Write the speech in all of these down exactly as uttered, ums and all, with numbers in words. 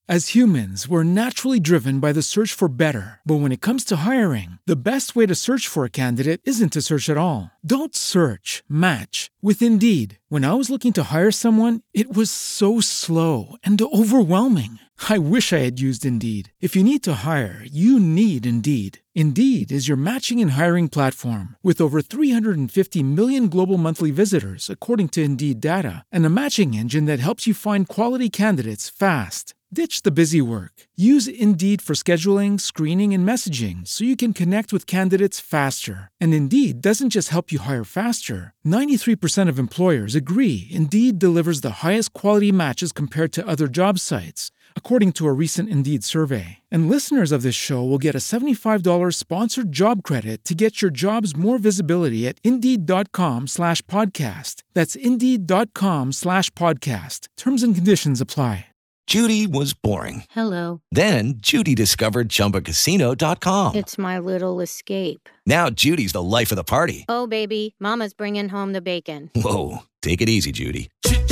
As humans, we're naturally driven by the search for better. But when it comes to hiring, the best way to search for a candidate isn't to search at all. Don't search, match with Indeed. When I was looking to hire someone, it was so slow and overwhelming. I wish I had used Indeed. If you need to hire, you need Indeed. Indeed is your matching and hiring platform with over three hundred fifty million global monthly visitors, according to Indeed data, and a matching engine that helps you find quality candidates fast. Ditch the busy work. Use Indeed for scheduling, screening, and messaging so you can connect with candidates faster. And Indeed doesn't just help you hire faster. ninety-three percent of employers agree Indeed delivers the highest quality matches compared to other job sites, according to a recent Indeed survey. And listeners of this show will get a seventy-five dollars sponsored job credit to get your jobs more visibility at Indeed.com slash podcast. That's Indeed.com slash podcast. Terms and conditions apply. Judy was boring. Hello. Then Judy discovered Chumba Casino dot com. It's my little escape. Now Judy's the life of the party. Oh, baby, mama's bringing home the bacon. Whoa, take it easy, Judy.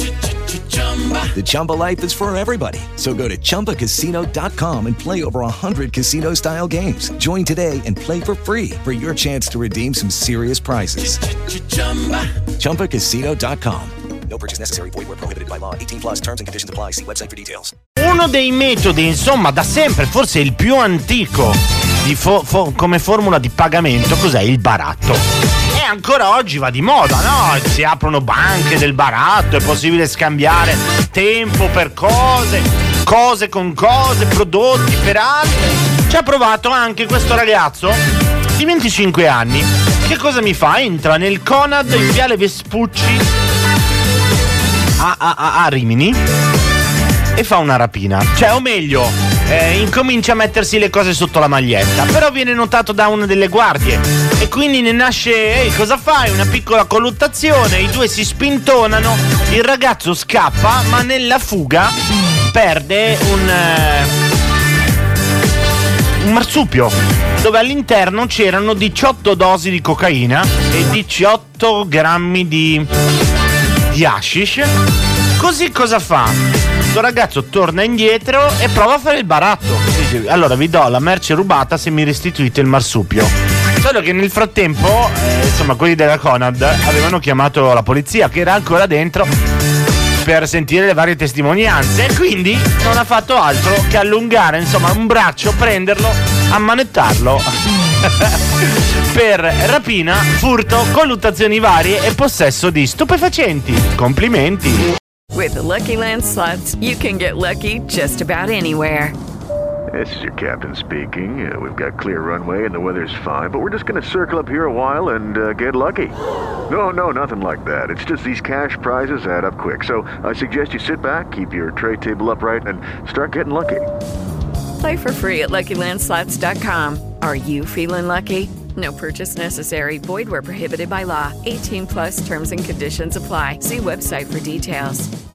The Chumba life is for everybody. So go to Chumba Casino dot com and play over one hundred casino-style games. Join today and play for free for your chance to redeem some serious prizes. Chumba Casino dot com. No purchase necessary. Void where prohibited by law. eighteen plus terms and conditions apply. See website for details. Uno dei metodi, insomma, da sempre, forse il più antico di fo- fo- come formula di pagamento, cos'è? Il baratto. E ancora oggi va di moda, no? Si aprono banche del baratto, è possibile scambiare tempo per cose, cose con cose, prodotti per altri. Ci ha provato anche questo ragazzo di venticinque anni. Che cosa mi fa? Entra nel Conad in Viale Vespucci A, a, a, a Rimini e fa una rapina, cioè o meglio eh, incomincia a mettersi le cose sotto la maglietta, però viene notato da una delle guardie e quindi ne nasce ehi, cosa fai? Una piccola colluttazione, i due si spintonano, il ragazzo scappa ma nella fuga perde un eh, un marsupio dove all'interno c'erano diciotto dosi di cocaina e diciotto grammi di di hashish. Così cosa fa? Questo ragazzo torna indietro e prova a fare il baratto. Dice, allora vi do la merce rubata se mi restituite il marsupio. Solo che nel frattempo eh, insomma quelli della Conad avevano chiamato la polizia che era ancora dentro per sentire le varie testimonianze e quindi non ha fatto altro che allungare insomma un braccio, prenderlo, ammanettarlo per rapina, furto, colluttazioni varie e possesso di stupefacenti. Complimenti. With the Lucky Land Slots, you can get lucky just about anywhere. This is your captain speaking. Uh, we've got clear runway and the weather's fine, but we're just going to circle up here a while and uh, get lucky. No, no, nothing like that. It's just these cash prizes add up quick. So I suggest you sit back, keep your tray table upright, and start getting lucky. Play for free at Lucky Land Slots dot com. Are you feeling lucky? No purchase necessary. Void where prohibited by law. eighteen plus terms and conditions apply. See website for details.